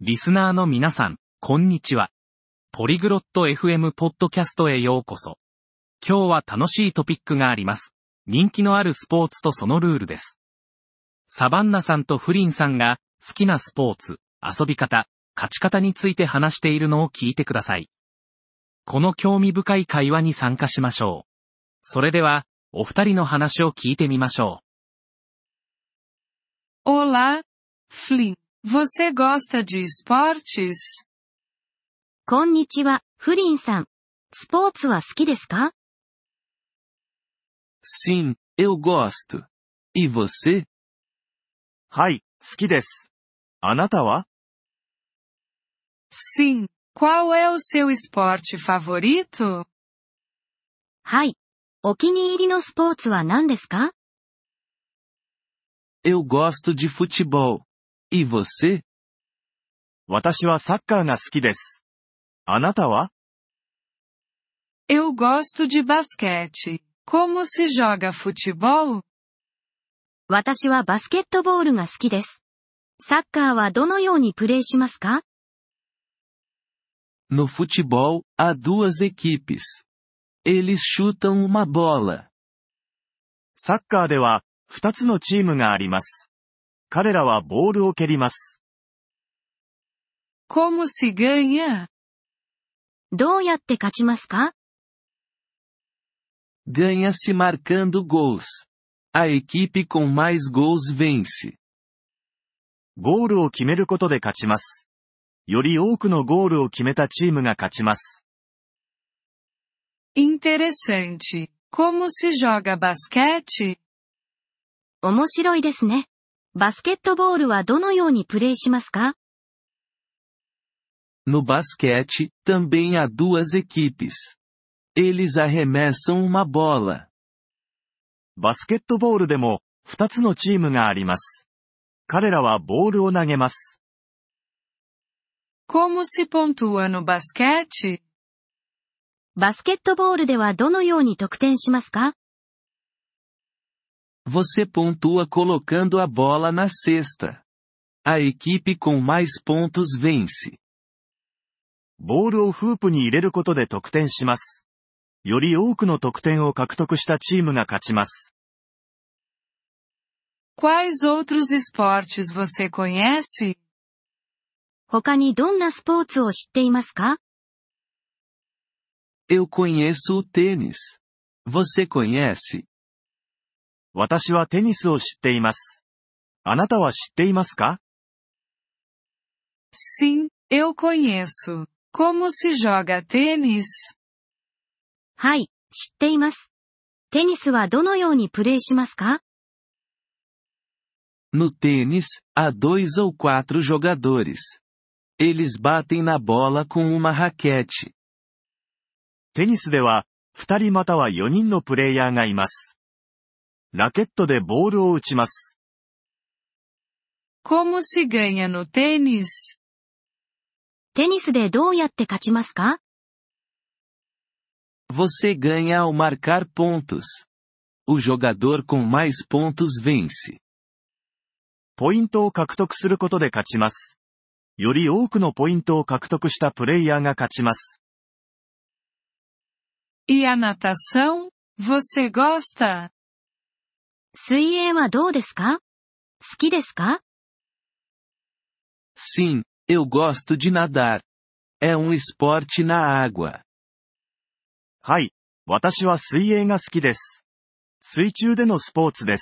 リスナーの皆さん、こんにちは。ポリグロット FM ポッドキャストへようこそ。今日は楽しいトピックがあります。人気のあるスポーツとそのルールです。サバンナさんとフリンさんが好きなスポーツ、遊び方、勝ち方について話しているのを聞いてください。この興味深い会話に参加しましょう。それでは、お二人の話を聞いてみましょう。Olá, Flynn. Você gosta de esportes? こんにちは、フリンさん。スポーツは好きですか？ Sim, eu gosto. E você? はい、好きです。あなたは？ Sim. Qual é o seu esporte favorito? はい。お気に入りのスポーツは何ですか？ Eu gosto de futebol. E você? 私はサッカーが好きです。あなたは？ Eu gosto de basquete. Como se joga futebol? 私はバスケットボールが好きです。サッカーはどのようにプレーしますか？ No futebol, há duas equipes. Eles chutam uma bola. サッカーでは、2つのチームがあります。彼らはボールを蹴ります。 Como se ganha? どうやって勝ちますか？ Ganha-se marcando gols. A equipe com mais gols vence. ゴールを決めることで勝ちます。より多くのゴールを決めたチームが勝ちます。 Interessante. Como se joga basquete? 面白いですね。バスケットボールはどのようにプレーしますか？ No basquete, também há duas equipes. Eles arremessam uma bola. バスケットボールでも、2つのチームがあります。彼らはボールを投げます。 Como se pontua no basquete? バスケットボールではどのように得点しますか？ Você pontua colocando a bola na cesta. A equipe com mais pontos vence. ボールをフープに入れることで得点します。より多くの得点を獲得したチームが勝ちます。 Quais outros esportes você conhece? 他にどんなスポーツを知っていますか？ Eu conheço o tênis. Você conhece? 私はテニスを知っています。あなたは知っていますか？ Sim, eu conheço. Como se joga tênis? はい、知っています。テニスはどのようにプレーしますか？ No tênis, há 2 ou 4 jogadores. Eles batem na bola com uma raquete. テニスでは、2人または4人のプレイヤーがいます。ラケットでボールを打ちます。 Como se ganha no tênis? テニスでどうやって勝ちますか？ Você ganha ao marcar pontos. O jogador com mais pontos vence. ポイントを獲得することで勝ちます。より多くのポイントを獲得したプレイヤーが勝ちます。 E a natação? Você gosta? 水泳はどうですか？好きですか？ Sim, eu gosto de nadar. É esporte na água. はい、私は水泳が好きです。水中でのスポーツです。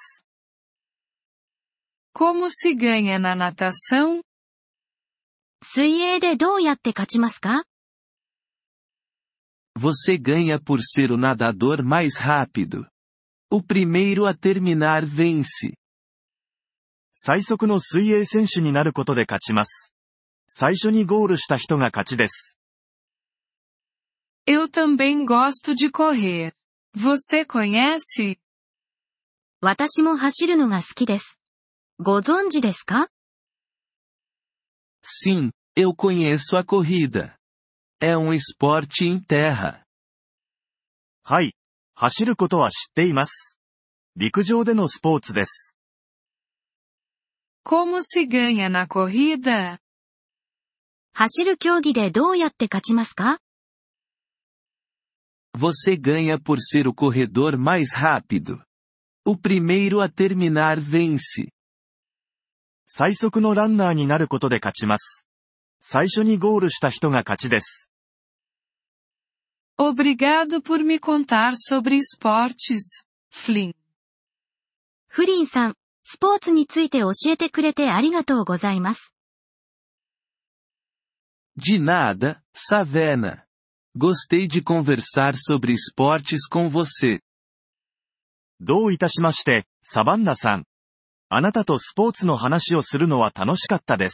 Como se ganha na natação? 水泳でどうやって勝ちますか？ Você ganha por ser o nadador mais rápido. O primeiro a terminar vence. 最速の水泳選手になることで勝ちます。最初にゴールした人が勝ちです。 Eu também gosto de correr. Você conhece? 私も走るのが好きです。ご存知ですか？ Sim, eu conheço a corrida. É esporte em terra. はい、走ることは知っています。陸上でのスポーツです。 Como se ganha na corrida? 走る競技でどうやって勝ちますか？ Você ganha por ser o corredor mais rápido. O primeiro a terminar vence. 最速のランナーになることで勝ちます。最初にゴールした人が勝ちです。 Obrigado por me contar sobre esportes, Flynn. フリンさん、スポーツについて教えてくれてありがとうございます。 De nada, Savannah. Gostei de conversar sobre esportes com você. どういたしまして、サバンナさん。あなたとスポーツの話をするのは楽しかったです。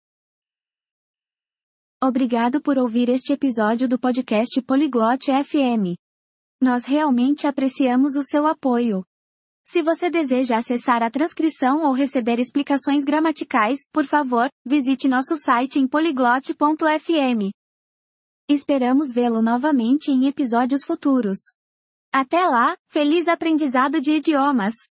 Obrigado por ouvir este episódio do podcast Polyglot FM. Nós realmente apreciamos o seu apoio. Se você deseja acessar a transcrição ou receber explicações gramaticais, por favor, visite nosso site em polyglot.fm. Esperamos vê-lo novamente em episódios futuros. Até lá, feliz aprendizado de idiomas!